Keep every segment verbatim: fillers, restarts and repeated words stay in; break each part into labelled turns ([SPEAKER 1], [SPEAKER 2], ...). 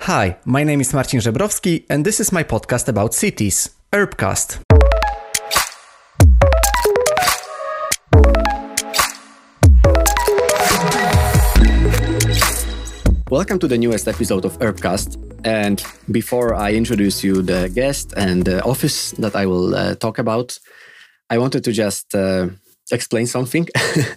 [SPEAKER 1] Hi, my name is Marcin Żebrowski, and this is my podcast about cities, Urbcast. Welcome to the newest episode of Urbcast. And before I introduce you the guest and the office that I will uh, talk about, I wanted to just uh, explain something.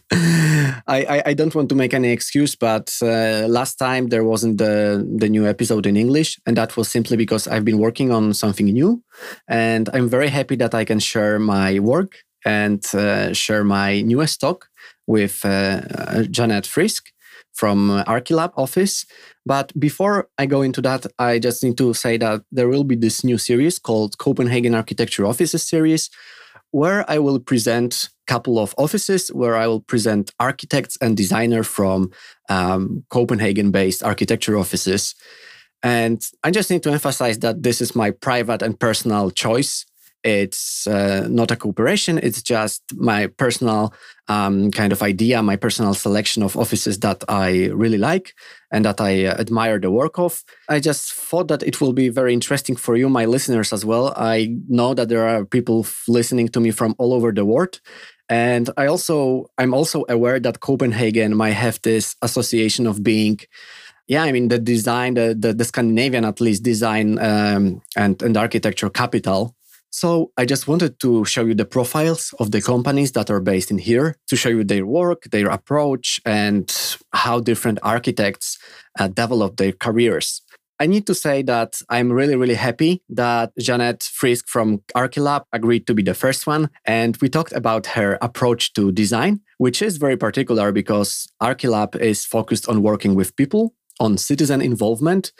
[SPEAKER 1] I, I, I don't want to make any excuse, but uh, last time there wasn't the, the new episode in English, and that was simply because I've been working on something new, and I'm very happy that I can share my work and uh, share my newest talk with uh, Jeanette Frisk from Archilab office. But before I go into that, I just need to say that there will be this new series called Copenhagen Architecture Offices series, where I will present a couple of offices, where I will present architects and designers from um, Copenhagen-based architecture offices. And I just need to emphasize that this is my private and personal choice. It's uh, not a cooperation. It's just my personal um, kind of idea, my personal selection of offices that I really like and that I uh, admire the work of. I just thought that it will be very interesting for you, my listeners, as well. I know that there are people listening to me from all over the world. And I also, I'm also aware that Copenhagen might have this association of being Yeah, I mean, the design, the, the, the Scandinavian, at least, design um, and, and architecture capital. So I just wanted to show you the profiles of the companies that are based in here, to show you their work, their approach, and how different architects uh, develop their careers. I need to say that I'm really, really happy that Jeanette Frisk from Archilab agreed to be the first one. And we talked about her approach to design, which is very particular because Archilab is focused on working with people, on citizen involvement.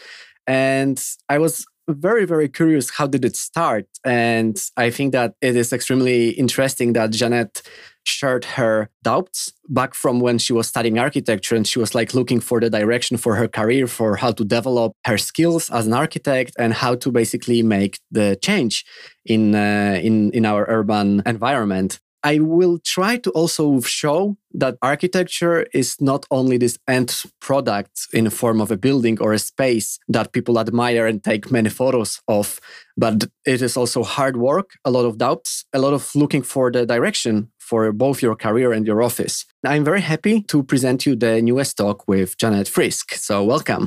[SPEAKER 1] And I was very, very curious, how did it start? And I think that it is extremely interesting that Jeanette shared her doubts back from when she was studying architecture, and she was like looking for the direction for her career, for how to develop her skills as an architect and how to basically make the change in uh, in in our urban environment. I will try to also show that architecture is not only this end product in the form of a building or a space that people admire and take many photos of, but it is also hard work, a lot of doubts, a lot of looking for the direction for both your career and your office. I'm very happy to present you the newest talk with Jeanette Frisk. So welcome.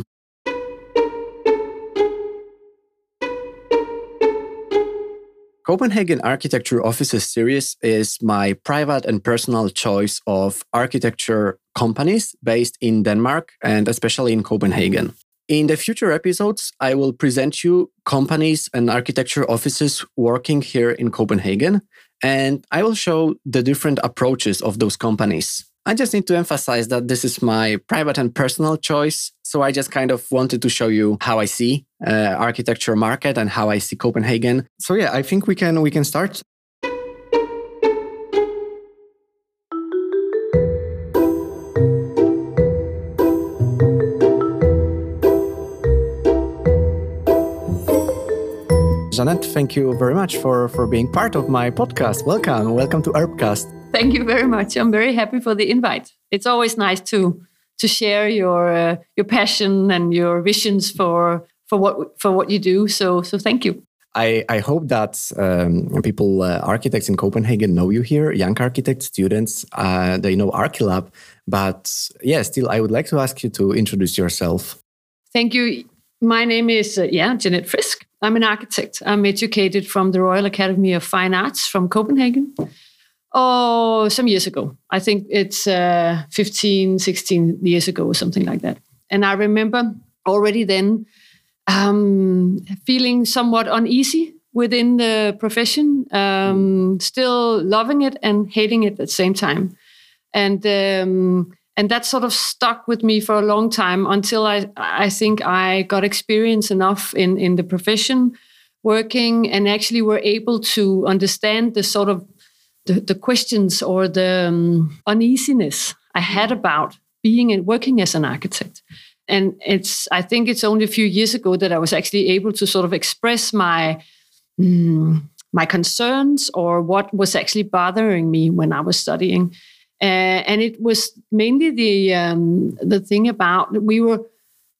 [SPEAKER 1] Copenhagen Architecture Offices series is my private and personal choice of architecture companies based in Denmark and especially in Copenhagen. In the future episodes, I will present you companies and architecture offices working here in Copenhagen, and I will show the different approaches of those companies. I just need to emphasize that this is my private and personal choice. So I just kind of wanted to show you how I see uh, architecture market and how I see Copenhagen. So yeah, I think we can we can start. Jeanette, thank you very much for, for being part of my podcast. Welcome. Welcome to Urbcast.
[SPEAKER 2] Thank you very much. I'm very happy for the invite. It's always nice to to share your uh, your passion and your visions for for what for what you do. So so thank you.
[SPEAKER 1] I, I hope that um, people, uh, architects in Copenhagen, know you here. Young architects, students, uh, they know Archilab. But yeah, still, I would like to ask you to introduce yourself.
[SPEAKER 2] Thank you. My name is uh, yeah Jeanette Frisk. I'm an architect. I'm educated from the Royal Academy of Fine Arts from Copenhagen. Oh, some years ago. I think it's uh, fifteen, sixteen years ago or something like that. And I remember already then um, feeling somewhat uneasy within the profession, um, still loving it and hating it at the same time. And um, and that sort of stuck with me for a long time until I, I think I got experience enough in, in the profession working and actually were able to understand the sort of The, the questions or the um, uneasiness I had about being and working as an architect. And it's, I think it's only a few years ago that I was actually able to sort of express my, mm, my concerns or what was actually bothering me when I was studying. Uh, and it was mainly the um, the thing about we were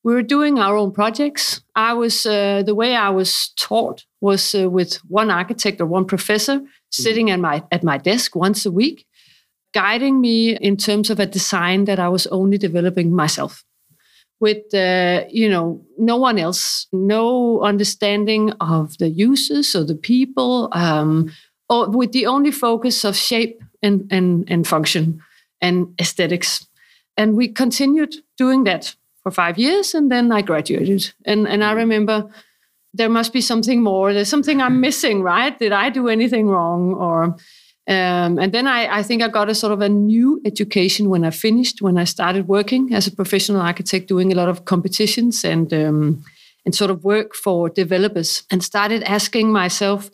[SPEAKER 2] we were doing our own projects. I was uh, the way I was taught was uh, with one architect or one professor sitting at my at my desk once a week, guiding me in terms of a design that I was only developing myself, with uh, you know no one else, no understanding of the users or the people, um, or with the only focus of shape and and and function and aesthetics. And we continued doing that for five years, and then I graduated. And and I remember there must be something more. There's something I'm missing, right? Did I do anything wrong? Or um, and then I, I think I got a sort of a new education when I finished, when I started working as a professional architect, doing a lot of competitions and um, and sort of work for developers, and started asking myself,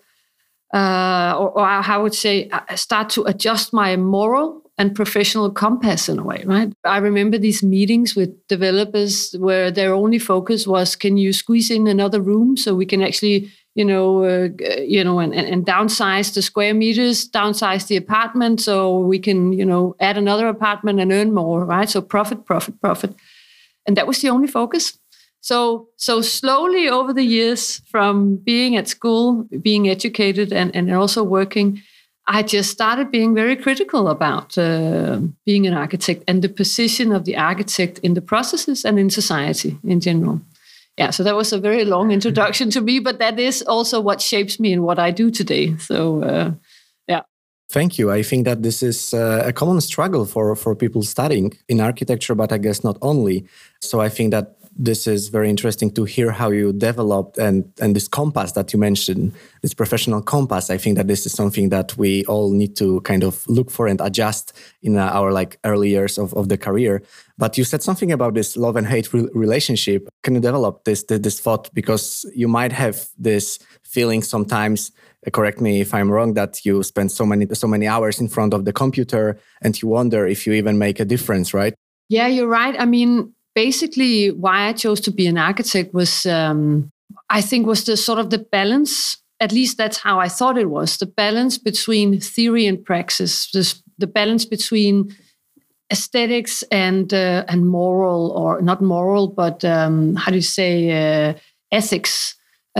[SPEAKER 2] uh, or, or I would say, I start to adjust my moral and professional compass in a way, right? I remember these meetings with developers where their only focus was, can you squeeze in another room so we can actually, you know, uh, you know, and, and downsize the square meters, downsize the apartment so we can, you know, add another apartment and earn more, right? So profit, profit, profit. And that was the only focus. So, so slowly over the years, from being at school, being educated, and, and also working, I just started being very critical about uh, being an architect and the position of the architect in the processes and in society in general. Yeah, so that was a very long introduction to me, but that is also what shapes me and what I do today. So, uh, yeah.
[SPEAKER 1] Thank you. I think that this is uh, a common struggle for, for people studying in architecture, but I guess not only. So I think that this is very interesting to hear how you developed and, and this compass that you mentioned, this professional compass. I think that this is something that we all need to kind of look for and adjust in our like early years of, of the career. But you said something about this love and hate re- relationship. Can you develop this, this, this thought? Because you might have this feeling sometimes, correct me if I'm wrong, that you spend so many, so many hours in front of the computer and you wonder if you even make a difference, right?
[SPEAKER 2] Yeah, you're right. I mean, basically, why I chose to be an architect was, um, I think, was the sort of the balance. At least that's how I thought it was. The balance between theory and praxis. This, the balance between aesthetics and uh, and moral, or not moral, but um, how do you say uh, ethics?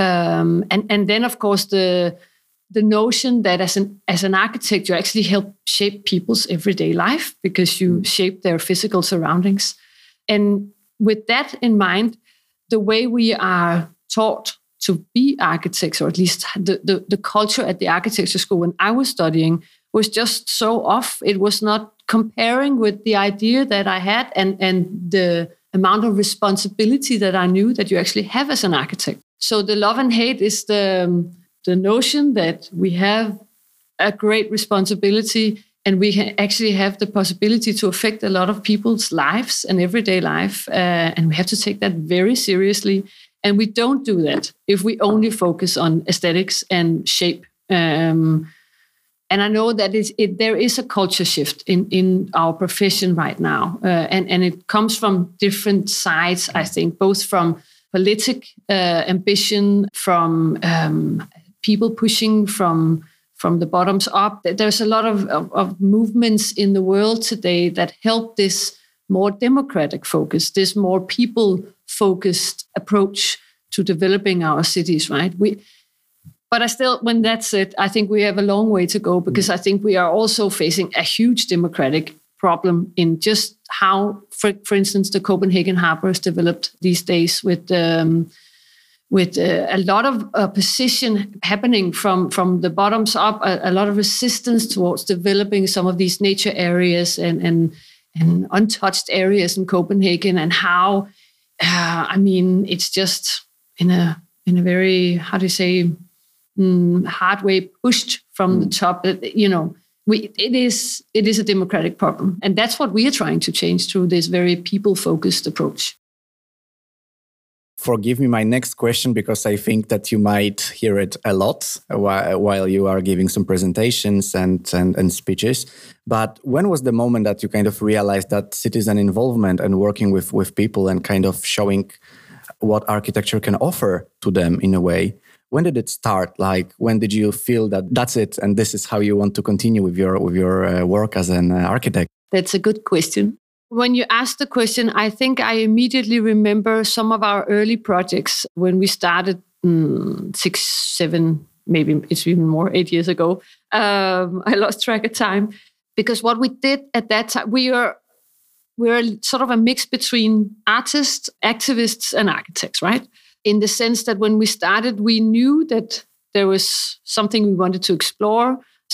[SPEAKER 2] Um, and and then, of course, the the notion that as an as an architect, you actually help shape people's everyday life because you shape their physical surroundings. And with that in mind, the way we are taught to be architects, or at least the, the, the culture at the architecture school when I was studying, was just so off. It was not comparing with the idea that I had and, and the amount of responsibility that I knew that you actually have as an architect. So the love and hate is the, the notion that we have a great responsibility and we can actually have the possibility to affect a lot of people's lives and everyday life. Uh, and we have to take that very seriously. And we don't do that if we only focus on aesthetics and shape. Um, and I know that it's, it, there is a culture shift in, in our profession right now. Uh, and, and it comes from different sides, I think, both from politic uh, ambition, from um, people pushing from... from the bottoms up. There's a lot of, of, of movements in the world today that help this more democratic focus, this more people-focused approach to developing our cities, right? We, but I still, when that's said, I think we have a long way to go because I think we are also facing a huge democratic problem in just how, for, for instance, the Copenhagen Harbor is developed these days with... Um, with uh, a lot of opposition happening from, from the bottoms up, a, a lot of resistance towards developing some of these nature areas and, and, and untouched areas in Copenhagen, and how, uh, I mean, it's just in a in a very, how do you say, mm, hard way pushed from mm. the top. You know, we it is it is a democratic problem, and that's what we are trying to change through this very people-focused approach.
[SPEAKER 1] Forgive me my next question, because I think that you might hear it a lot while you are giving some presentations and, and, and speeches. But when was the moment that you kind of realized that citizen involvement and working with, with people and kind of showing what architecture can offer to them in a way? When did it start? Like, when did you feel that that's it and this is how you want to continue with your, with your uh, work as an uh, architect?
[SPEAKER 2] That's a good question. When you ask the question, I think I immediately remember some of our early projects when we started mm, six, seven, maybe it's even more, eight years ago. Um, I lost track of time. Because what we did at that time, we were, we were sort of a mix between artists, activists, and architects, right? In the sense that when we started, we knew that there was something we wanted to explore.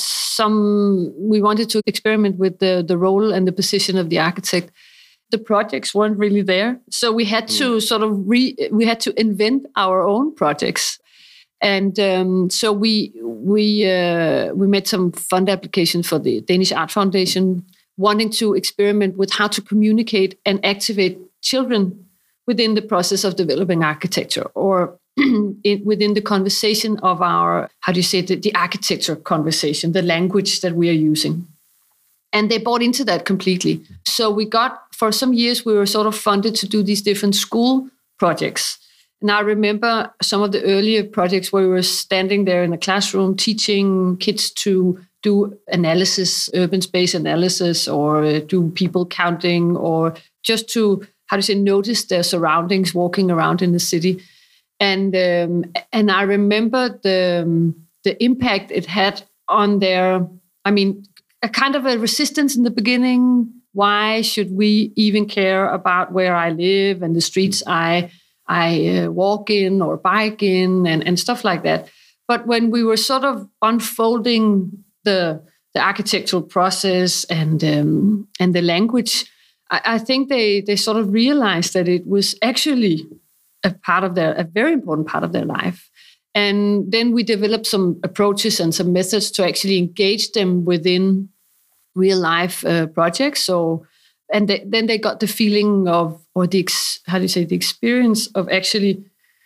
[SPEAKER 2] Some we wanted to experiment with the, the role and the position of the architect. The projects weren't really there, so we had to sort of re we had to invent our own projects, and um, so we we uh, we made some fund applications for the Danish Art Foundation, wanting to experiment with how to communicate and activate children within the process of developing architecture, or in, within the conversation of our, how do you say, the, the architecture conversation, the language that we are using. And they bought into that completely. So we got, for some years, we were sort of funded to do these different school projects. And I remember some of the earlier projects where we were standing there in a classroom teaching kids to do analysis, urban space analysis, or do people counting, or just to, how do you say, notice their surroundings walking around in the city. And um, and I remember the um, the impact it had on their, I mean, a kind of a resistance in the beginning. Why should we even care about where I live and the streets I I uh, walk in or bike in and, and stuff like that? But when we were sort of unfolding the the architectural process and um, and the language, I, I think they they sort of realized that it was actually a part of their, a very important part of their life. And then we developed some approaches and some methods to actually engage them within real life uh, projects. So, and they, then they got the feeling of, or the, ex, how do you say, the experience of actually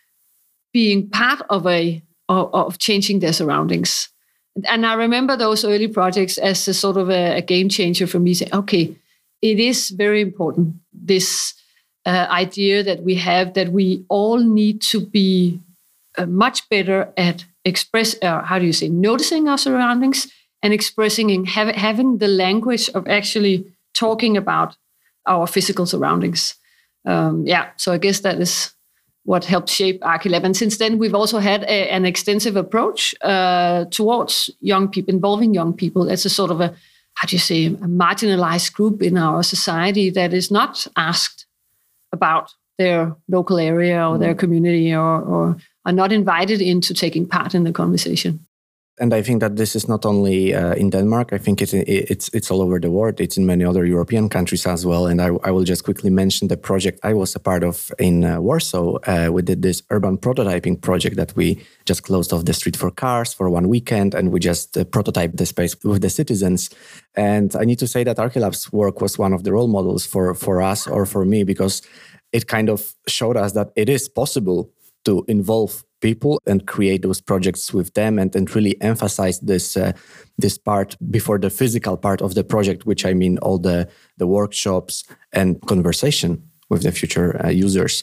[SPEAKER 2] being part of a, of, of changing their surroundings. And I remember those early projects as a sort of a, a game changer for me, saying, okay, it is very important, this Uh, idea that we have, that we all need to be uh, much better at express, uh, how do you say, noticing our surroundings and expressing and have, having the language of actually talking about our physical surroundings. Um, yeah, so I guess that is what helped shape Archilab. And since then, we've also had a, an extensive approach uh, towards young people, involving young people as a sort of a, how do you say, a marginalized group in our society that is not asked about their local area or their community, or, or are not invited into taking part in the conversation.
[SPEAKER 1] And I think that this is not only uh, in Denmark. I think it's, it's it's all over the world. It's in many other European countries as well. And I, I will just quickly mention the project I was a part of in uh, Warsaw. Uh, we did this urban prototyping project that we just closed off the street for cars for one weekend, and we just uh, prototyped the space with the citizens. And I need to say that Archilab's work was one of the role models for, for us, or for me, because it kind of showed us that it is possible to involve people and create those projects with them, and, and really emphasize this uh, this part before the physical part of the project, which I mean all the, the workshops and conversation with the future uh, users.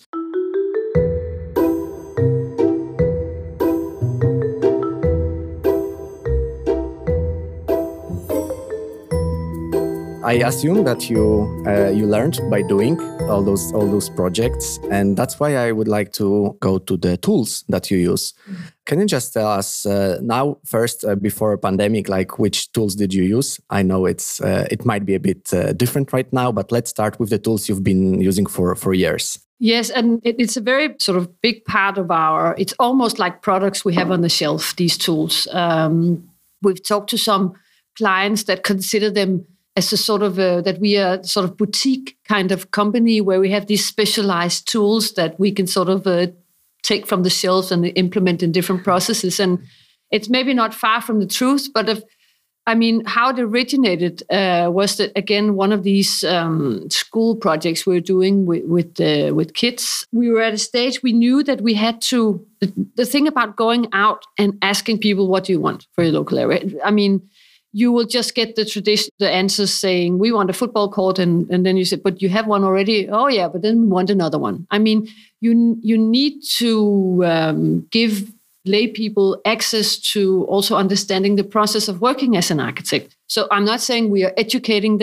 [SPEAKER 1] I assume that you uh, you learned by doing all those all those projects, and that's why I would like to go to the tools that you use. Mm-hmm. Can you just tell us uh, now first, uh, before a pandemic, like which tools did you use? I know it's uh, it might be a bit uh, different right now, but let's start with the tools you've been using for for years.
[SPEAKER 2] Yes, and it, it's a very sort of big part of our. It's almost like products we have on the shelf. These tools. Um, we've talked to some clients that consider them as a sort of a, that we are sort of boutique kind of company where we have these specialized tools that we can sort of uh, take from the shelves and implement in different processes. And it's maybe not far from the truth, but if, I mean, how it originated uh, was that, again, one of these um, school projects we were doing with with, uh, with kids. We were at a stage we knew that we had to, the, the thing about going out and asking people, what do you want for your local area? I mean, you will just get the tradition, the answers saying, we want a football court. And, and then you say, but you have one already. Oh, yeah, but then we want another one. I mean, you, you need to um, give lay people access to also understanding the process of working as an architect. So I'm not saying we are educating them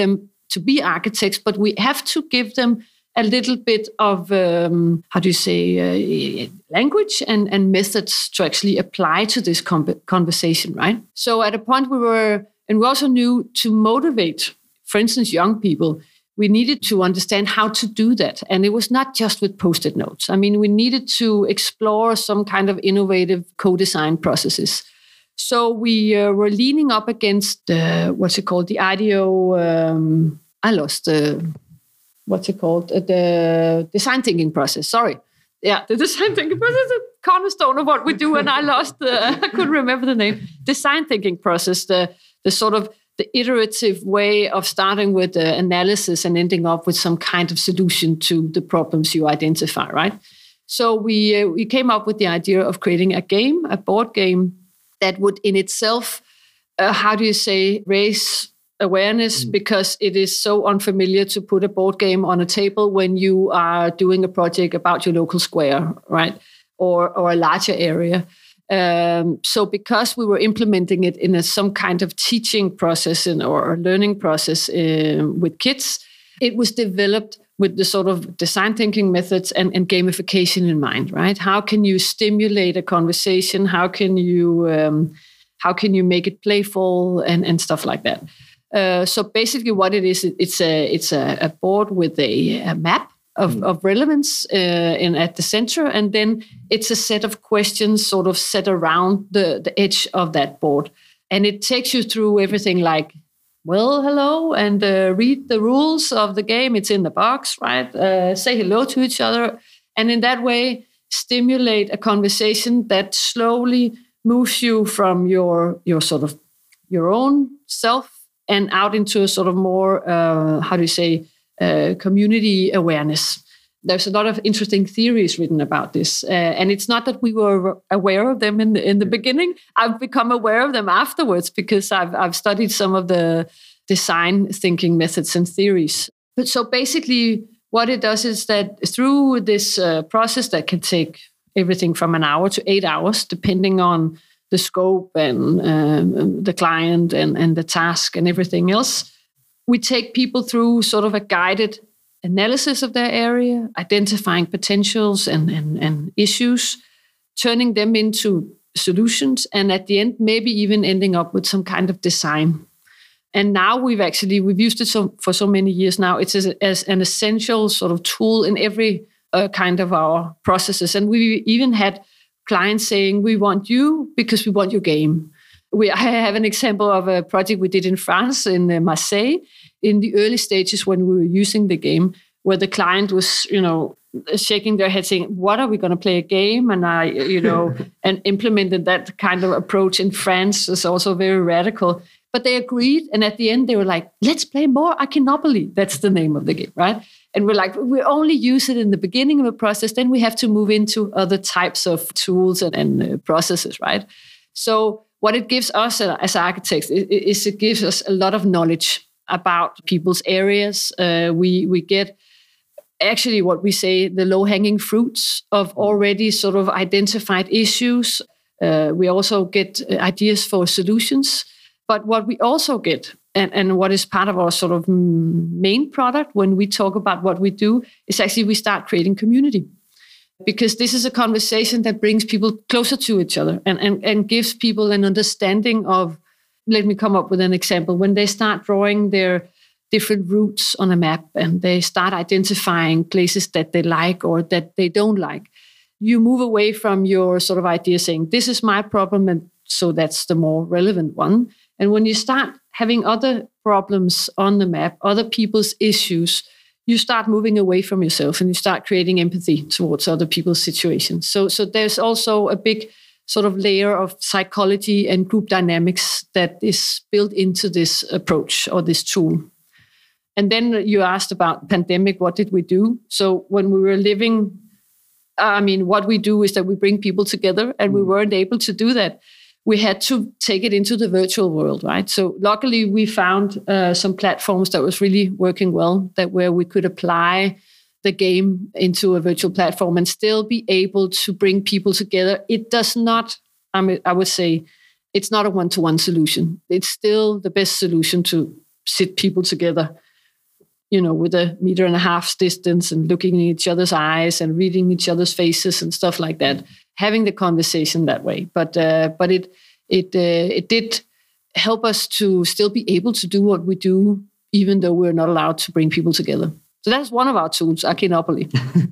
[SPEAKER 2] to be architects, but we have to give them a little bit of, um, how do you say, uh, language and, and methods to actually apply to this com- conversation, right? So at a point we were, and we also knew to motivate, for instance, young people, we needed to understand how to do that. And it was not just with post-it notes. I mean, we needed to explore some kind of innovative co-design processes. So we uh, were leaning up against, uh, what's it called, the I D E-O, um, I lost the... Uh, what's it called? Uh, the design thinking process. Sorry. Yeah, the design thinking process is a cornerstone of what we do. And I lost, uh, I couldn't remember the name. Design thinking process, the, the sort of the iterative way of starting with the analysis and ending up with some kind of solution to the problems you identify, right? So we, uh, we came up with the idea of creating a game, a board game that would in itself, uh, how do you say, raise awareness, because it is so unfamiliar to put a board game on a table when you are doing a project about your local square, right? Or or a larger area. Um, so because we were implementing it in a, some kind of teaching process and, or learning process uh, with kids, it was developed with the sort of design thinking methods and, and gamification in mind, right? How can you stimulate a conversation? How can you um, how can you make it playful and, and stuff like that? Uh, so basically what it is, it's a it's a, a board with a, a map of, mm. of relevance uh, in at the center, and then it's a set of questions sort of set around the, the edge of that board. And it takes you through everything like, well, hello, and uh, read the rules of the game. It's in the box, right? Uh, say hello to each other. And in that way, stimulate a conversation that slowly moves you from your your sort of your own self and out into a sort of more, uh, how do you say, uh, community awareness. There's a lot of interesting theories written about this. Uh, and it's not that we were aware of them in the, in the beginning. I've become aware of them afterwards because I've, I've studied some of the design thinking methods and theories. But so basically what it does is that through this uh, process that can take everything from an hour to eight hours, depending on the scope and um, the client and, and the task and everything else. We take people through sort of a guided analysis of their area, identifying potentials and, and, and issues, turning them into solutions, and at the end, maybe even ending up with some kind of design. And now we've actually, we've used it so, for so many years now. It's as, as an essential sort of tool in every uh, kind of our processes. And we even had clients saying, we want you because we want your game. We, I have an example of a project we did in France, in Marseille, in the early stages when we were using the game, where the client was, you know, shaking their head saying, what are we going to play a game? And I, you know, and implemented that kind of approach in France. It's also very radical. But they agreed. And at the end, they were like, let's play more Akinopoly. That's the name of the game, right? And we're like, we only use it in the beginning of a process. Then we have to move into other types of tools and, and uh, processes, right? So what it gives us uh, as architects is it gives us a lot of knowledge about people's areas. Uh, we we get actually what we say the low-hanging fruits of already sort of identified issues. Uh, we also get ideas for solutions. But what we also get, and, and what is part of our sort of main product when we talk about what we do, is actually we start creating community. Because this is a conversation that brings people closer to each other and, and, and gives people an understanding of, let me come up with an example. When they start drawing their different routes on a map and they start identifying places that they like or that they don't like, you move away from your sort of idea saying, this is my problem, and so that's the more relevant one. And when you start having other problems on the map, other people's issues, you start moving away from yourself and you start creating empathy towards other people's situations. So, so there's also a big sort of layer of psychology and group dynamics that is built into this approach or this tool. And then you asked about pandemic, what did we do? So when we were living, I mean, what we do is that we bring people together, and we weren't able to do that. We had to take it into the virtual world, right? So luckily we found uh, some platforms that was really working well, that where we could apply the game into a virtual platform and still be able to bring people together. It does not, I mean, I would say, it's not a one-to-one solution. It's still the best solution to sit people together you know, with a meter and a half distance and looking in each other's eyes and reading each other's faces and stuff like that, having the conversation that way. But uh, but it it uh, it did help us to still be able to do what we do, even though we're not allowed to bring people together. So that's one of our tools, Archinopoly.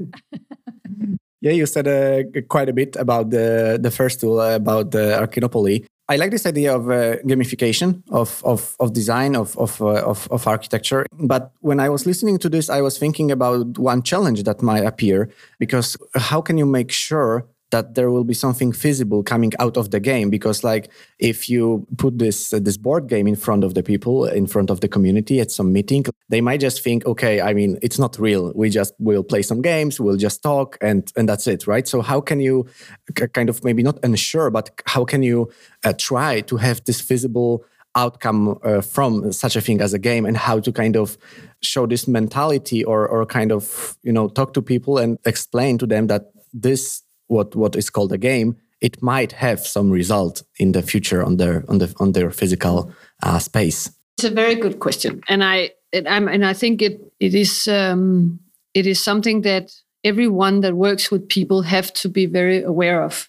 [SPEAKER 1] Yeah, you said uh, quite a bit about the the first tool, uh, about the Archinopoly. I like this idea of uh, gamification of of of design of of, uh, of of architecture. But when I was listening to this, I was thinking about one challenge that might appear, because how can you make sure that there will be something feasible coming out of the game? Because like if you put this uh, this board game in front of the people, in front of the community at some meeting, they might just think, okay, I mean, it's not real. We just will play some games, we'll just talk, and and that's it, right? So how can you kind of maybe not ensure, but how can you uh, try to have this feasible outcome uh, from such a thing as a game, and how to kind of show this mentality, or or kind of, you know, talk to people and explain to them that this what what is called a game, it might have some result in the future on their on the on their physical uh, space?
[SPEAKER 2] It's a very good question, and I and, I'm, and I think it it is um, it is something that everyone that works with people have to be very aware of,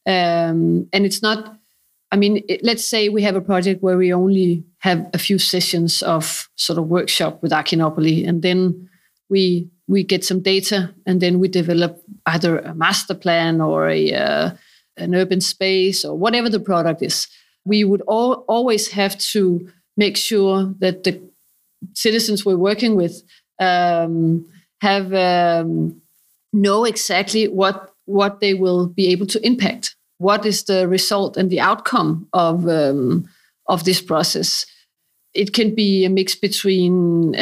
[SPEAKER 2] um, and it's not. I mean, it, let's say we have a project where we only have a few sessions of sort of workshop with Archinopoly, and then we we get some data, and then we develop either a master plan or a uh, an urban space or whatever the product is. We would all, always have to make sure that the citizens we're working with um, have um, know exactly what what they will be able to impact. What is the result and the outcome of um, of this process? It can be a mix between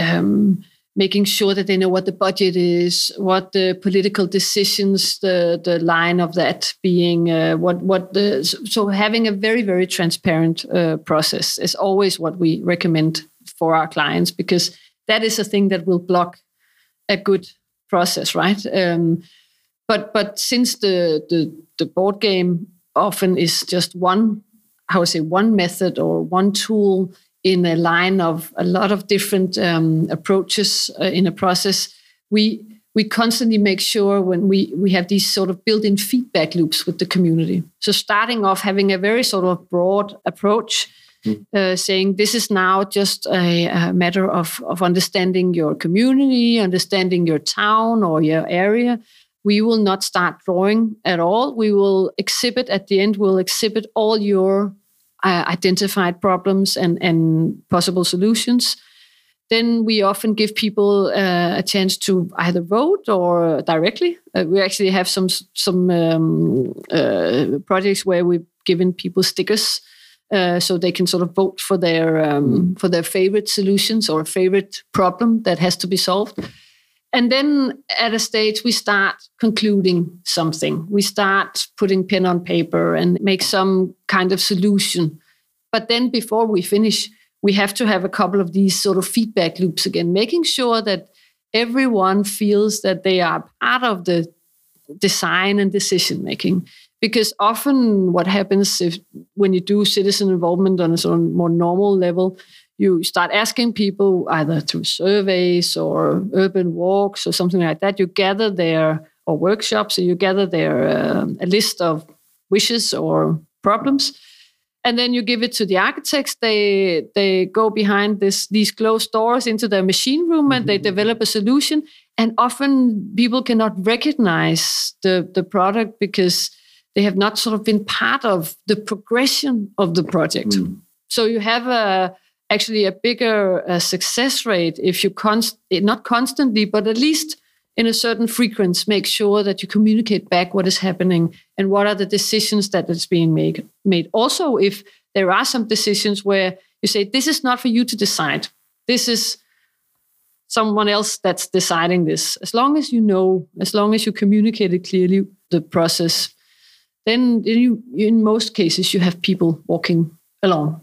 [SPEAKER 2] um, making sure that they know what the budget is, what the political decisions, the the line of that being, uh, what what the so having a very very transparent uh, process is always what we recommend for our clients, because that is a thing that will block a good process, right? Um, but but since the the the board game often is just one, how I say, one method or one tool in a line of a lot of different um, approaches uh, in a process, we we constantly make sure when we, we have these sort of built-in feedback loops with the community. So starting off having a very sort of broad approach, mm. uh, saying this is now just a, a matter of, of understanding your community, understanding your town or your area. We will not start drawing at all. We will exhibit at the end, we'll exhibit all your Uh, identified problems and, and possible solutions. Then we often give people uh, a chance to either vote or directly. Uh, we actually have some some um, uh, projects where we've given people stickers uh, so they can sort of vote for their um, for their favorite solutions or favorite problem that has to be solved. And then at a stage, we start concluding something. We start putting pen on paper and make some kind of solution. But then before we finish, we have to have a couple of these sort of feedback loops again, making sure that everyone feels that they are part of the design and decision making. Because often what happens if when you do citizen involvement on a sort of more normal level, you start asking people either through surveys or urban walks or something like that. You gather their, or workshops, so you gather their uh, a list of wishes or problems, and then you give it to the architects. They they go behind this these closed doors into their machine room, mm-hmm. and they develop a solution. And often people cannot recognize the the product because they have not sort of been part of the progression of the project. Mm. So you have a actually a bigger uh, success rate if you const- not constantly, but at least in a certain frequency, make sure that you communicate back what is happening and what are the decisions that is being made. Made. Also, if there are some decisions where you say, this is not for you to decide, this is someone else that's deciding this. As long as you know, as long as you communicate it clearly, the process, then you, in most cases, you have people walking along.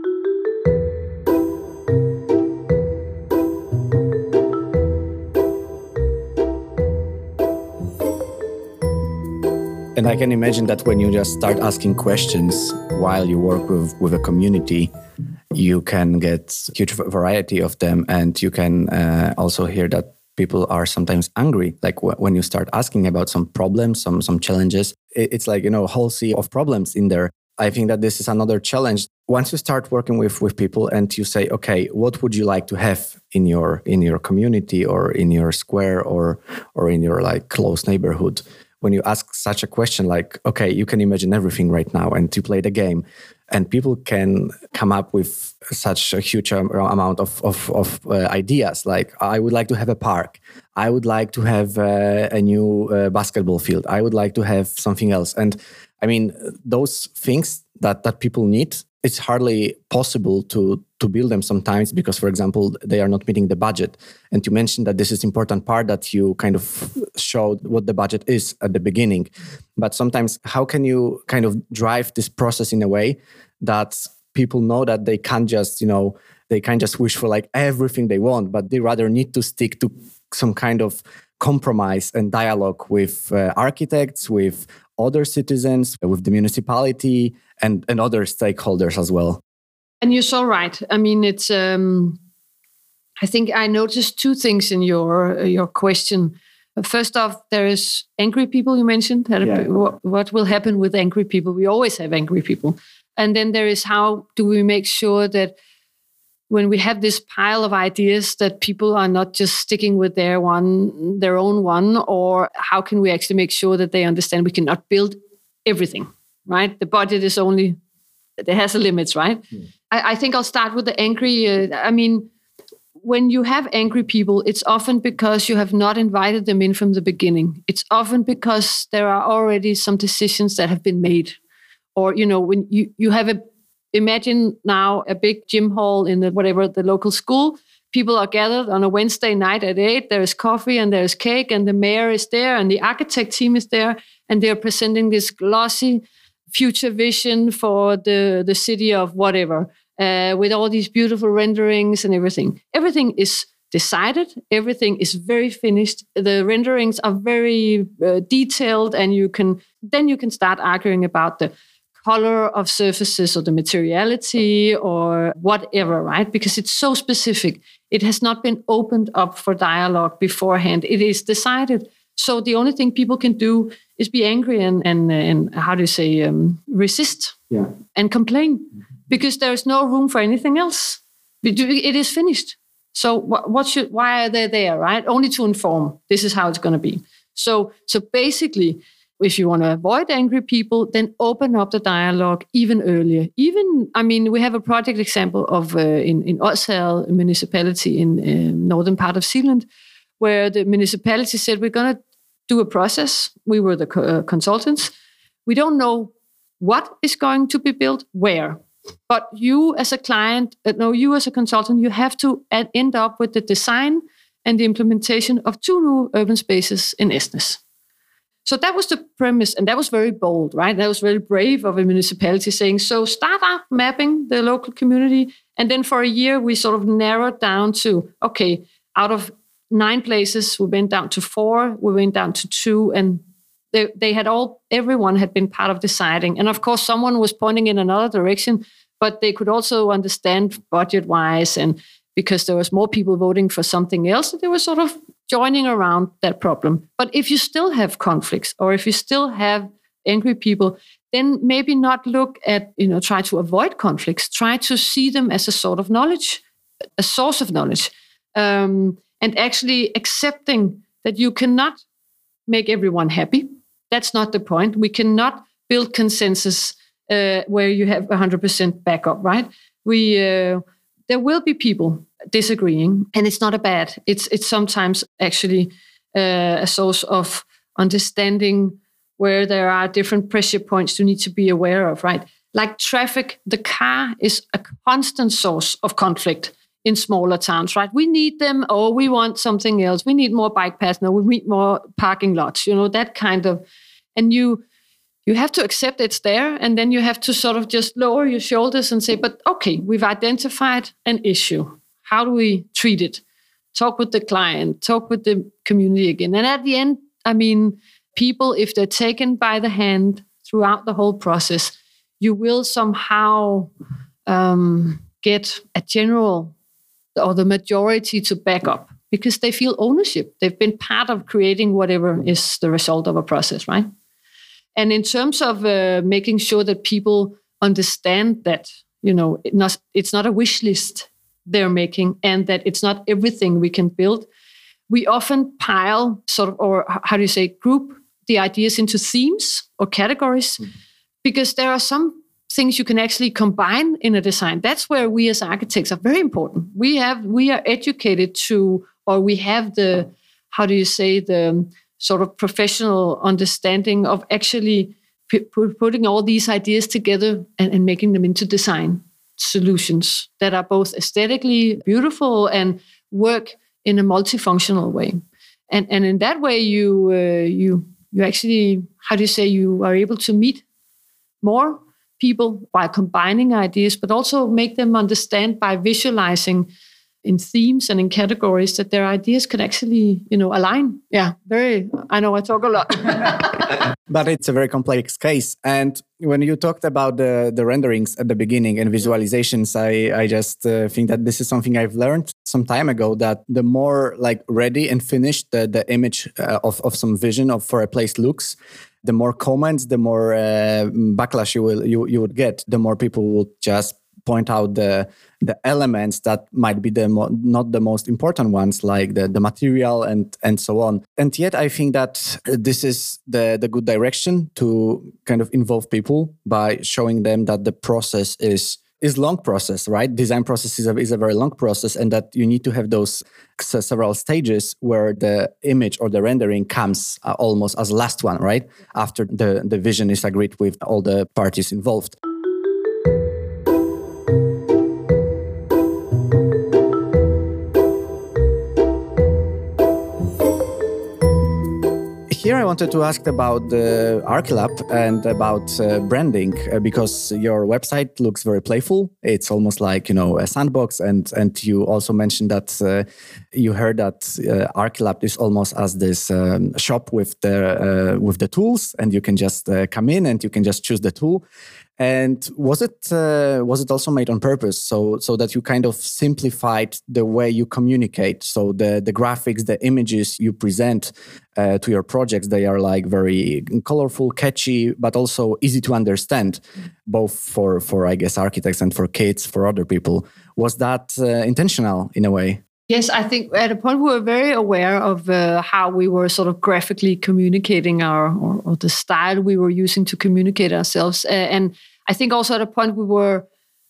[SPEAKER 1] And I can imagine that when you just start asking questions while you work with, with a community, you can get huge variety of them, and you can uh, also hear that people are sometimes angry. Like w- when you start asking about some problems, some some challenges, it, it's like, you know, a whole sea of problems in there. I think that this is another challenge. Once you start working with, with people and you say, okay, what would you like to have in your in your community or in your square or or in your like close neighborhood? When you ask such a question, like, okay, you can imagine everything right now, and you play the game, and people can come up with such a huge amount of of, of uh, ideas. Like, I would like to have a park. I would like to have uh, a new uh, basketball field. I would like to have something else. And I mean, those things that, that people need, it's hardly possible to, to build them sometimes because, for example, they are not meeting the budget. And you mentioned that this is important part that you kind of showed what the budget is at the beginning. But sometimes how can you kind of drive this process in a way that people know that they can't just, you know, they can't just wish for like everything they want, but they rather need to stick to some kind of compromise and dialogue with uh, architects, with other citizens, with the municipality and, and other stakeholders as well.
[SPEAKER 2] And you're so right. I mean, it's, um, I think I noticed two things in your, uh, your question. First off, there is angry people you mentioned. Yeah. What, what will happen with angry people? We always have angry people. And then there is how do we make sure that when we have this pile of ideas that people are not just sticking with their one, their own one, or how can we actually make sure that they understand we cannot build everything, right? The budget is only, it has a limits, right? Yeah. I, I think I'll start with the angry. Uh, I mean, when you have angry people, it's often because you have not invited them in from the beginning. It's often because there are already some decisions that have been made. Or, you know, when you, you have a, imagine now a big gym hall in the whatever the local school. People are gathered on a Wednesday night at eight. There is coffee and there is cake, and the mayor is there, and the architect team is there, and they're presenting this glossy future vision for the, the city of whatever, uh, with all these beautiful renderings and everything. Everything is decided. Everything is very finished. The renderings are very uh, detailed, and you can then you can start arguing about the color of surfaces or the materiality or whatever, right? Because it's so specific. It has not been opened up for dialogue beforehand. It is decided. So the only thing people can do is be angry and, and, and how do you say, um, resist yeah. and complain because there is no room for anything else. It is finished. So what, what should, why are they there, right? Only to inform. This is how it's going to be. So, so basically, if you want to avoid angry people, then open up the dialogue even earlier. Even, I mean, we have a project example of uh, in, in Odsherred, a municipality in uh, northern part of Zealand, where the municipality said, we're going to do a process. We were the co- uh, consultants. We don't know what is going to be built, where. But you as a client, uh, no, you as a consultant, you have to ad- end up with the design and the implementation of two new urban spaces in Esnes. So that was the premise, and that was very bold, right? That was very brave of a municipality saying, so start up mapping the local community. And then for a year, we sort of narrowed down to, okay, out of nine places, we went down to four, we went down to two, and they, they had all, everyone had been part of deciding. And of course, someone was pointing in another direction, but they could also understand budget-wise, and because there was more people voting for something else, they were sort of joining around that problem. But if you still have conflicts, or if you still have angry people, then maybe not look at, you know, try to avoid conflicts, try to see them as a sort of knowledge, a source of knowledge, um, and actually accepting that you cannot make everyone happy. That's not the point. We cannot build consensus uh, where you have one hundred percent backup, right? We uh, there will be people disagreeing, and it's not a bad. It's it's sometimes actually uh, a source of understanding where there are different pressure points you need to be aware of, right? Like traffic, the car is a constant source of conflict in smaller towns, right? We need them, or we want something else. We need more bike paths, no, we need more parking lots, you know, that kind of, and you you have to accept it's there, and then you have to sort of just lower your shoulders and say, but okay, we've identified an issue. How do we treat it? Talk with the client, talk with the community again. And at the end, I mean, people, if they're taken by the hand throughout the whole process, you will somehow um, get a general or the majority to back up because they feel ownership. They've been part of creating whatever is the result of a process, right? And in terms of uh, making sure that people understand that, you know, it not, it's not a wish list they're making and that it's not everything we can build, we often pile sort of, or how do you say, group the ideas into themes or categories, mm. because there are some things you can actually combine in a design. That's where we as architects are very important. We have, we are educated to, or we have the, how do you say, the sort of professional understanding of actually p- putting all these ideas together and, and making them into design solutions that are both aesthetically beautiful and work in a multifunctional way. And and in that way, you uh, you you actually, how do you say, you are able to meet more people by combining ideas, but also make them understand by visualizing in themes and in categories that their ideas can actually, you know, align. Yeah, very, I know I talk a lot.
[SPEAKER 3] But it's a very complex case. And when you talked about the, the renderings at the beginning and visualizations, I, I just uh, think that this is something I've learned some time ago, that the more like ready and finished the, the image uh, of, of some vision of for a place looks, the more comments, the more uh, backlash you will you, you would get, the more people will just point out the the elements that might be the mo- not the most important ones, like the, the material and and so on. And yet I think that this is the, the good direction to kind of involve people by showing them that the process is is long process, right? Design process is a, is a very long process, and that you need to have those several stages where the image or the rendering comes uh, almost as last one, right? After the, the vision is agreed with all the parties involved. Here I wanted to ask about the Archilab and about uh, branding, uh, because your website looks very playful. It's almost like, you know, a sandbox. And and you also mentioned that uh, you heard that uh, Archilab is almost as this um, shop with the uh, with the tools, and you can just uh, come in and you can just choose the tool. And was it uh, was it also made on purpose, so so that you kind of simplified the way you communicate? So the the graphics, the images you present uh, to your projects, they are like very colorful, catchy, but also easy to understand, both for for I guess architects and for kids, for other people. Was that uh, intentional in a way?
[SPEAKER 2] Yes, I think at a point we were very aware of uh, how we were sort of graphically communicating our, or, or the style we were using to communicate ourselves. Uh, and I think also at a point we were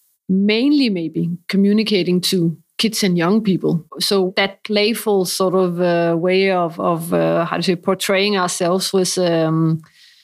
[SPEAKER 2] mainly maybe communicating to kids and young people. So that playful sort of uh, way of, of uh, how to say, portraying ourselves was, um,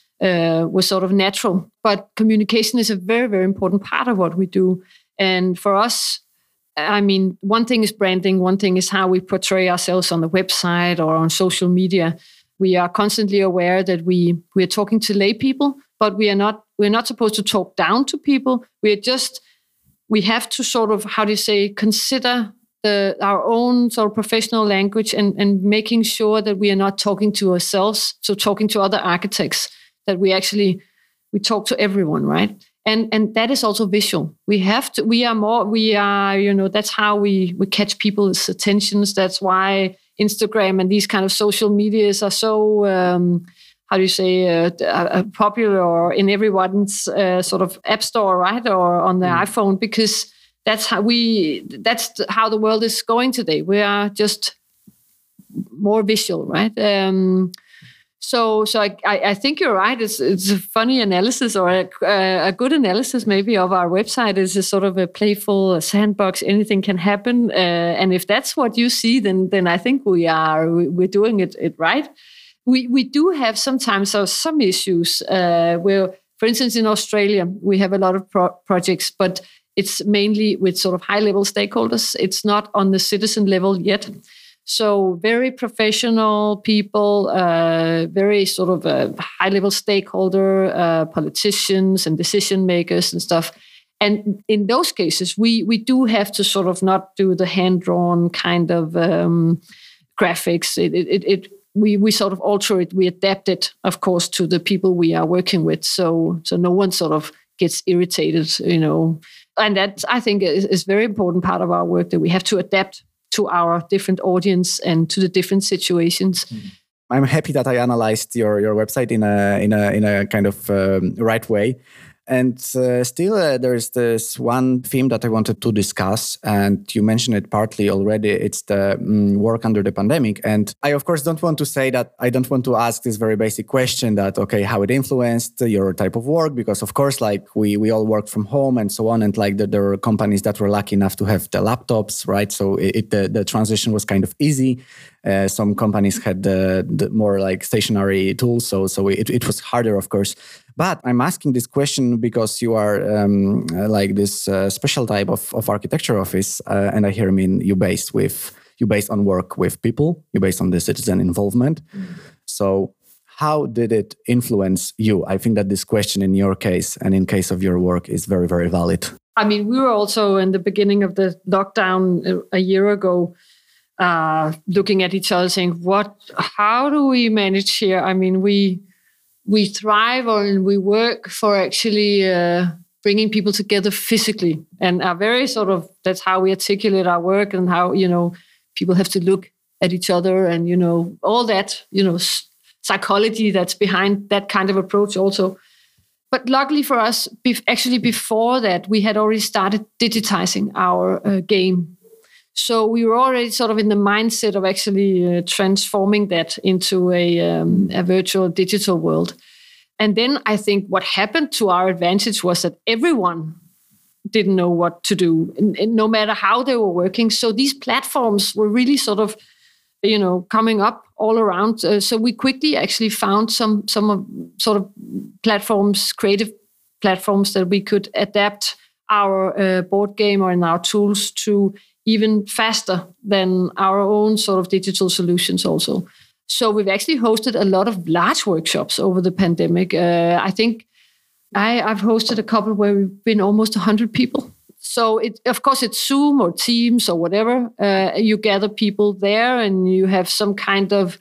[SPEAKER 2] uh, was sort of natural. But communication is a very, very important part of what we do. And for us, I mean, one thing is branding, one thing is how we portray ourselves on the website or on social media. We are constantly aware that we we are talking to lay people, but we are not we're not supposed to talk down to people. We are just we have to sort of, how do you say, consider the our own sort of professional language and, and making sure that we are not talking to ourselves, so talking to other architects, that we actually we talk to everyone, right? And and that is also visual. We have to, we are more, we are, you know, that's how we, we catch people's attentions. That's why Instagram and these kind of social medias are so, um, how do you say, uh, uh, popular or in everyone's uh, sort of app store, right? Or on the mm. iPhone, because that's how we, that's how the world is going today. We are just more visual, right? Um, So, so I, I think you're right. It's it's a funny analysis, or a, a good analysis maybe of our website. Is a sort of a playful sandbox. Anything can happen, uh, and if that's what you see, then then I think we are we're doing it, it right. We we do have sometimes uh, some issues uh, where, for instance, in Australia we have a lot of pro- projects, but it's mainly with sort of high level stakeholders. It's not on the citizen level yet. So very professional people, uh, very sort of uh, high-level stakeholder, uh, politicians and decision makers and stuff. And in those cases, we we do have to sort of not do the hand-drawn kind of um, graphics. It, it, it we we sort of alter it. We adapt it, of course, to the people we are working with. So so no one sort of gets irritated, you know. And that, I think, is, is a very important part of our work, that we have to adapt to our different audience and to the different situations. Mm-hmm.
[SPEAKER 3] I'm happy that I analyzed your, your website in a in a in a kind of um, right way. And uh, still, uh, there's this one theme that I wanted to discuss, and you mentioned it partly already. It's the um, work under the pandemic. And I, of course, don't want to say that I don't want to ask this very basic question that, okay, how it influenced your type of work, because, of course, like we we all work from home and so on. And like the, there were companies that were lucky enough to have the laptops, right? So it, it the, the transition was kind of easy. Uh, some companies had the, the more like stationary tools, so so it, it was harder, of course. But I'm asking this question because you are um, like this uh, special type of, of architecture office, uh, and I hear I mean you based with you based on work with people, you based on the citizen involvement. Mm. So how did it influence you? I think that this question in your case and in case of your work is very, very valid.
[SPEAKER 2] I mean, we were also in the beginning of the lockdown a year ago, uh, looking at each other saying, what, how do we manage here? I mean, we, we thrive and we work for actually uh, bringing people together physically, and are very sort of, that's how we articulate our work, and how, you know, people have to look at each other, and, you know, all that, you know, psychology that's behind that kind of approach also. But luckily for us, actually before that, we had already started digitizing our uh, game. So we were already sort of in the mindset of actually uh, transforming that into a, um, a virtual digital world. And then I think what happened to our advantage was that everyone didn't know what to do, and, and no matter how they were working. So these platforms were really sort of, you know, coming up all around. Uh, so we quickly actually found some some of sort of platforms, creative platforms that we could adapt our uh, board game or in our tools to even faster than our own sort of digital solutions also. So we've actually hosted a lot of large workshops over the pandemic. Uh, I think I, I've hosted a couple where we've been almost one hundred people. So it, of course, it's Zoom or Teams or whatever. Uh, you gather people there and you have some kind of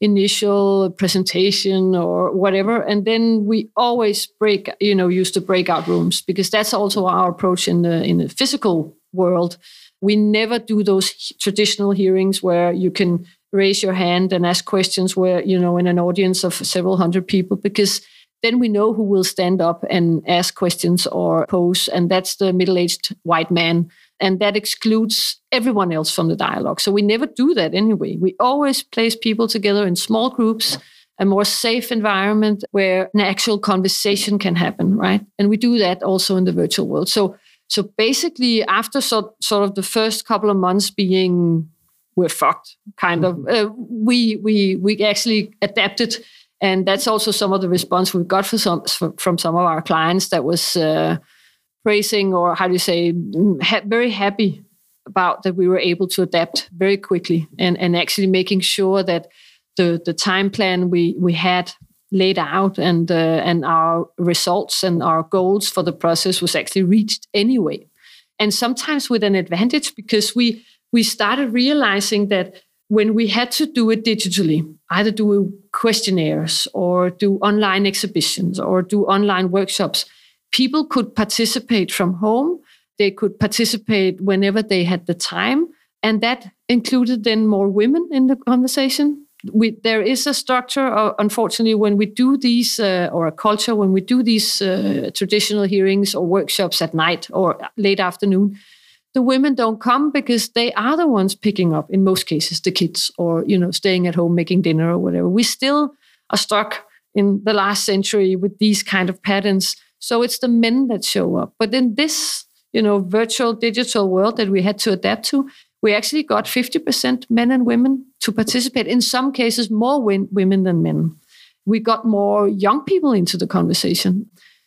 [SPEAKER 2] initial presentation or whatever. And then we always break, you know, use the breakout rooms, because that's also our approach in the in the physical world. We never do those traditional hearings where you can raise your hand and ask questions where, you know, in an audience of several hundred people, because then we know who will stand up and ask questions or pose, and that's the middle-aged white man. And that excludes everyone else from the dialogue. So we never do that anyway. We always place people together in small groups, a more safe environment where an actual conversation can happen, right? And we do that also in the virtual world. So So basically, after so, sort of the first couple of months being, we're fucked, kind of, uh, we we we actually adapted, and that's also some of the response we've got for some from some of our clients that was uh, praising, or how do you say, ha- very happy about that we were able to adapt very quickly, and and actually making sure that the the time plan we we had laid out and uh, and our results and our goals for the process was actually reached anyway. And sometimes with an advantage, because we we started realizing that when we had to do it digitally, either do questionnaires or do online exhibitions or do online workshops, people could participate from home. They could participate whenever they had the time. And that included then more women in the conversation. We, there is a structure, uh, unfortunately, when we do these, uh, or a culture, when we do these uh, traditional hearings or workshops at night or late afternoon, the women don't come because they are the ones picking up, in most cases, the kids, or, you know, staying at home, making dinner or whatever. We still are stuck in the last century with these kind of patterns. So it's the men that show up. But in this, you know, virtual digital world that we had to adapt to, we actually got fifty percent men and women to participate. In some cases, more win- women than men. We got more young people into the conversation.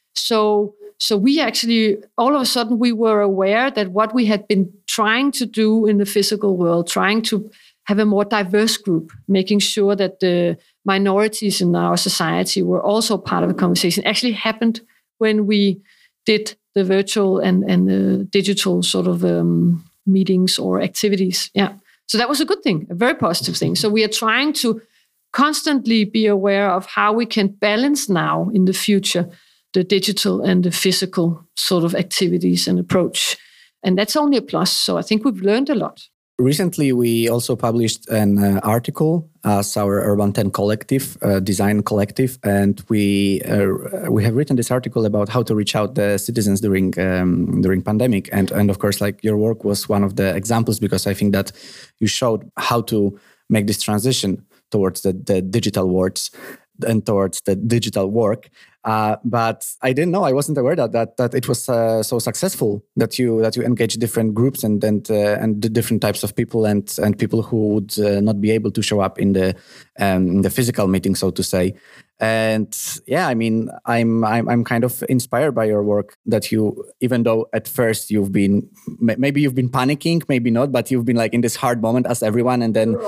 [SPEAKER 2] So, so we actually, all of a sudden, we were aware that what we had been trying to do in the physical world, trying to have a more diverse group, making sure that the minorities in our society were also part of the conversation, actually happened when we did the virtual and, and the digital sort of um, meetings or activities. Yeah. So that was a good thing, a very positive thing. So we are trying to constantly be aware of how we can balance now in the future the digital and the physical sort of activities and approach. And that's only a plus. So I think we've learned a lot.
[SPEAKER 3] Recently, we also published an uh, article as our Urban ten Collective, uh, design collective, and we uh, we have written this article about how to reach out the citizens during um, during pandemic, and and of course, like your work was one of the examples, because I think that you showed how to make this transition towards the, the digital worlds and towards the digital work. Uh, but I didn't know, I wasn't aware that that, that it was uh, so successful, that you that you engage different groups and and uh, and the different types of people and and people who would uh, not be able to show up in the um, in the physical meeting, so to say. And yeah, I mean, I'm I'm I'm kind of inspired by your work, that you, even though at first you've been, maybe you've been panicking, maybe not, but you've been like in this hard moment as everyone, and then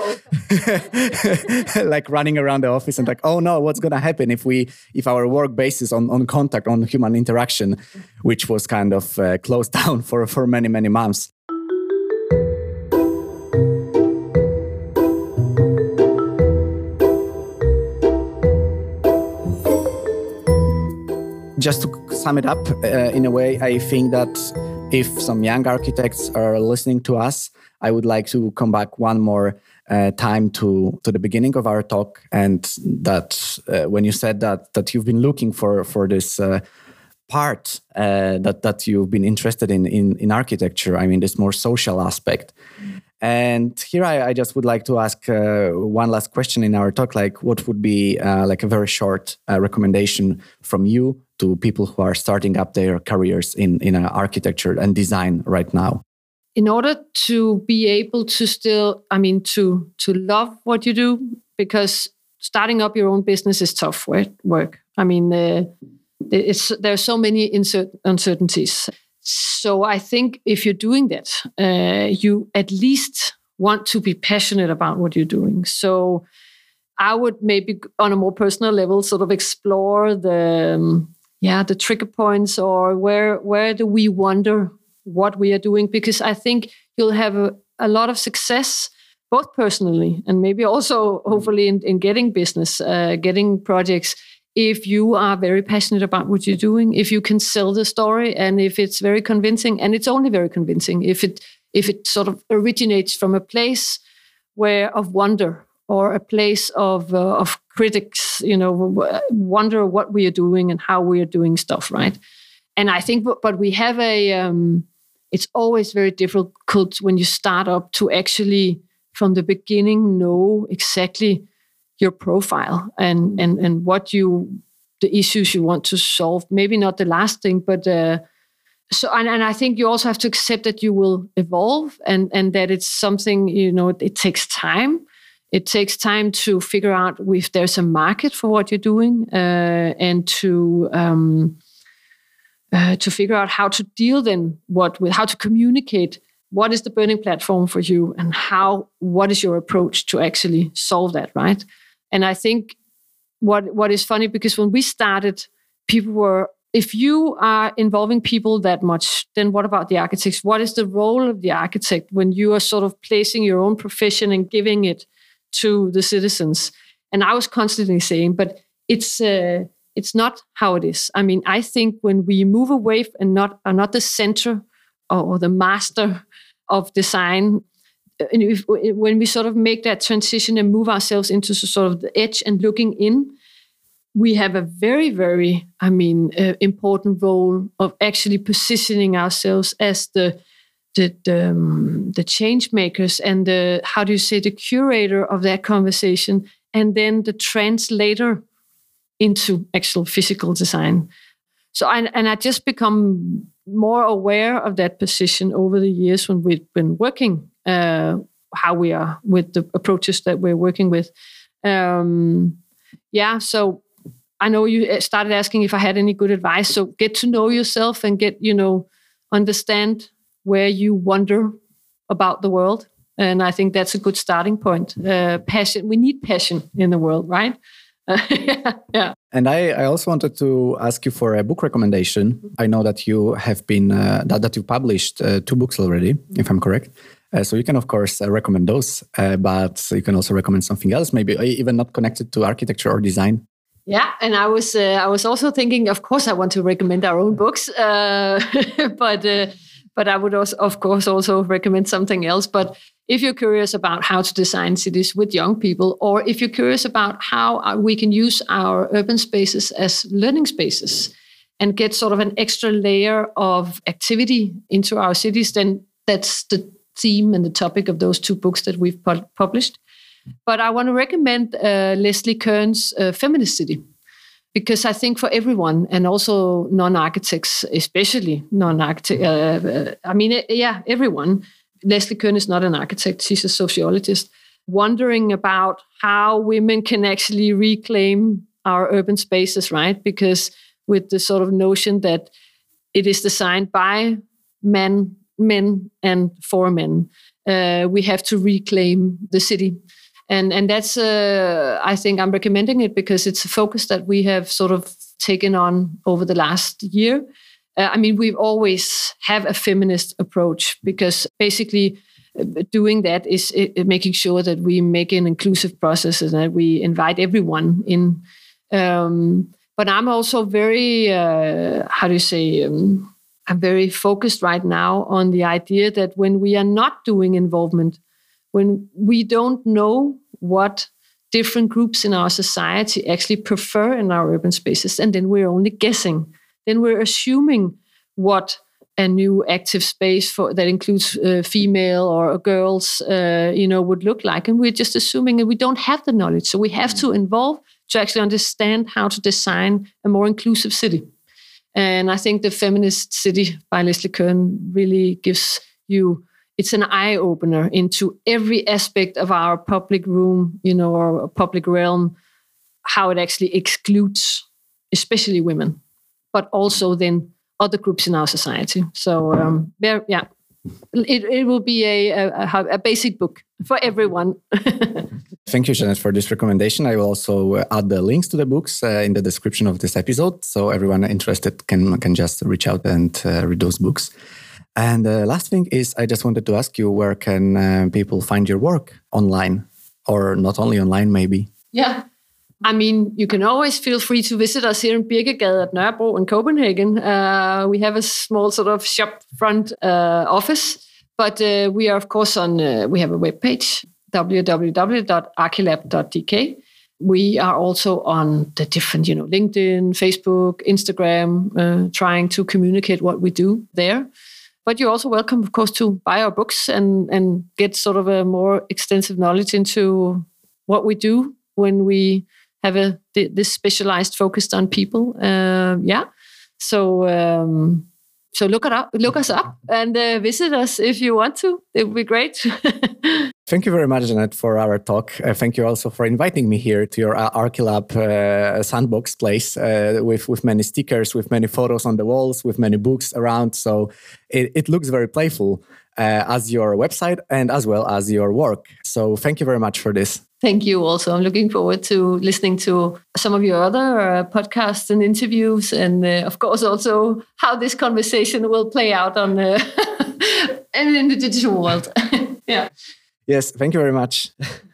[SPEAKER 3] like running around the office and like, oh no, what's gonna happen if we if our work basis on on contact, on human interaction, which was kind of uh, closed down for for many many months. Just to sum it up, uh, in a way, I think that if some young architects are listening to us, I would like to come back one more uh, time to, to the beginning of our talk, and that uh, when you said that that you've been looking for for this uh, part uh, that that you've been interested in, in in architecture. I mean, this more social aspect. And here I, I just would like to ask uh, one last question in our talk, like what would be uh, like a very short uh, recommendation from you to people who are starting up their careers in, in uh, architecture and design right now?
[SPEAKER 2] In order to be able to still, I mean, to to love what you do, because starting up your own business is tough work. I mean, uh, it's, there are so many insert- uncertainties. So I think if you're doing that, uh, you at least want to be passionate about what you're doing. So I would maybe on a more personal level sort of explore the um, yeah the trigger points, or where where do we wonder what we are doing, because I think you'll have a, a lot of success both personally and maybe also hopefully in, in getting business, uh, getting projects, if you are very passionate about what you're doing, if you can sell the story, and if it's very convincing, and it's only very convincing if it if it sort of originates from a place where of wonder, or a place of uh, of critics, you know, wonder what we are doing and how we are doing stuff, right? And I think, but we have a, um, it's always very difficult when you start up to actually from the beginning know exactly your profile and and and what you, the issues you want to solve. Maybe not the last thing, but uh, so and, and I think you also have to accept that you will evolve, and and that it's something, you know, it, it takes time. It takes time to figure out if there's a market for what you're doing, uh, and to um, uh, to figure out how to deal then what with how to communicate. What is the burning platform for you, and how? What is your approach to actually solve that, right? And I think what what is funny, because when we started, people were, if you are involving people that much, then what about the architects? What is the role of the architect when you are sort of placing your own profession and giving it to the citizens? And I was constantly saying, but it's uh, it's not how it is. I mean, I think when we move away and not are not the center or the master of design, and if, when we sort of make that transition and move ourselves into sort of the edge and looking in, we have a very, very, I mean, uh, important role of actually positioning ourselves as the the the, um, the change makers and the, how do you say, the curator of that conversation, and then the translator into actual physical design. So, I, and I just become more aware of that position over the years when we've been working, uh, how we are with the approaches that we're working with. Um, yeah, so I know you started asking if I had any good advice. So get to know yourself and get, you know, understand where you wonder about the world. And I think that's a good starting point. Uh, passion. We need passion in the world, right? Uh, yeah, yeah.
[SPEAKER 3] And I, I also wanted to ask you for a book recommendation. I know that you have been, uh, that, that you published uh, two books already, if I'm correct. Uh, so you can, of course, uh, recommend those, uh, but you can also recommend something else, maybe even not connected to architecture or design.
[SPEAKER 2] Yeah, and I was uh, I was also thinking, of course, I want to recommend our own books, uh, but uh, but I would also, of course, also recommend something else. But if you're curious about how to design cities with young people, or if you're curious about how we can use our urban spaces as learning spaces and get sort of an extra layer of activity into our cities, then that's the theme and the topic of those two books that we've pu- published. But I want to recommend uh, Leslie Kern's uh, Feminist City, because I think for everyone, and also non-architects, especially non-architects, uh, uh, I mean, yeah, everyone. Leslie Kern is not an architect, she's a sociologist, wondering about how women can actually reclaim our urban spaces, right? Because with the sort of notion that it is designed by men, men and for men, uh, we have to reclaim the city. And and that's, uh, I think I'm recommending it because it's a focus that we have sort of taken on over the last year. Uh, I mean, we've always have a feminist approach because basically uh, doing that is uh, making sure that we make an inclusive process and that we invite everyone in. Um, but I'm also very, uh, how do you say, um, I'm very focused right now on the idea that when we are not doing involvement, when we don't know what different groups in our society actually prefer in our urban spaces, and then we're only guessing, then we're assuming what a new active space for that includes uh, female or girls, uh, you know, would look like, and we're just assuming, and we don't have the knowledge. So we have to involve to actually understand how to design a more inclusive city. And I think the Feminist City by Leslie Kern really gives you. It's an eye-opener into every aspect of our public room, you know, or public realm, how it actually excludes, especially women, but also then other groups in our society. So, um, yeah, it, it will be a, a, a basic book for everyone.
[SPEAKER 3] Thank you, Jeanette, for this recommendation. I will also add the links to the books uh, in the description of this episode, so everyone interested can, can just reach out and uh, read those books. And the last thing is, I just wanted to ask you, where can uh, people find your work online? Or not only online, maybe?
[SPEAKER 2] Yeah. I mean, you can always feel free to visit us here in Birkegade at Nørrebro in Copenhagen. Uh, we have a small sort of shop front uh, office, but uh, we are, of course, on, uh, we have a webpage, w w w dot archilab dot d k. We are also on the different, you know, LinkedIn, Facebook, Instagram, uh, trying to communicate what we do there. But you're also welcome, of course, to buy our books and, and get sort of a more extensive knowledge into what we do when we have a this specialized focused on people. Uh, yeah. So um, so look it up, look us up and uh, visit us if you want to. It would be great.
[SPEAKER 3] Thank you very much, Jeanette, for our talk. Uh, thank you also for inviting me here to your uh, Archilab uh, sandbox place uh, with, with many stickers, with many photos on the walls, with many books around. So it, it looks very playful uh, as your website and as well as your work. So thank you very much for this.
[SPEAKER 2] Thank you also. I'm looking forward to listening to some of your other uh, podcasts and interviews, and uh, of course also how this conversation will play out on uh, and in the digital world. Yeah.
[SPEAKER 3] Yes, thank you very much.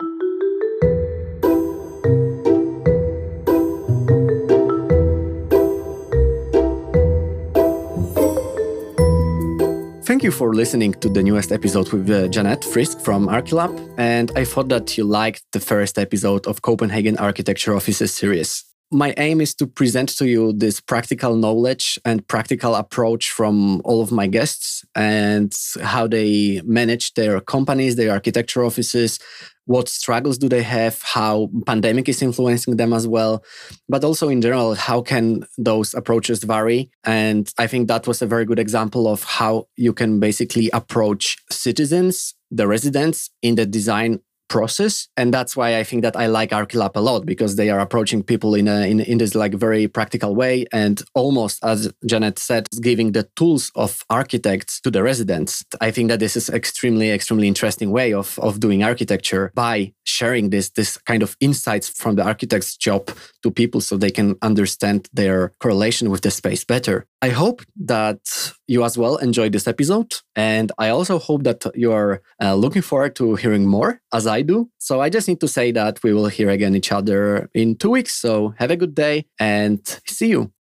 [SPEAKER 1] Thank you for listening to the newest episode with uh, Jeanette Frisk from Archilab, and I thought that you liked the first episode of Copenhagen Architecture Offices series. My aim is to present to you this practical knowledge and practical approach from all of my guests and how they manage their companies, their architecture offices, what struggles do they have, how pandemic is influencing them as well, but also in general, how can those approaches vary? And I think that was a very good example of how you can basically approach citizens, the residents in the design process. And that's why I think that I like Archilab a lot, because they are approaching people in a in, in this like very practical way, and almost, as Jeanette said, giving the tools of architects to the residents. I think that this is extremely, extremely interesting way of, of doing architecture by sharing this, this kind of insights from the architect's job to people so they can understand their correlation with the space better. I hope that you as well enjoyed this episode. And I also hope that you're uh, looking forward to hearing more, as I do. So I just need to say that we will hear again each other in two weeks. So have a good day and see you.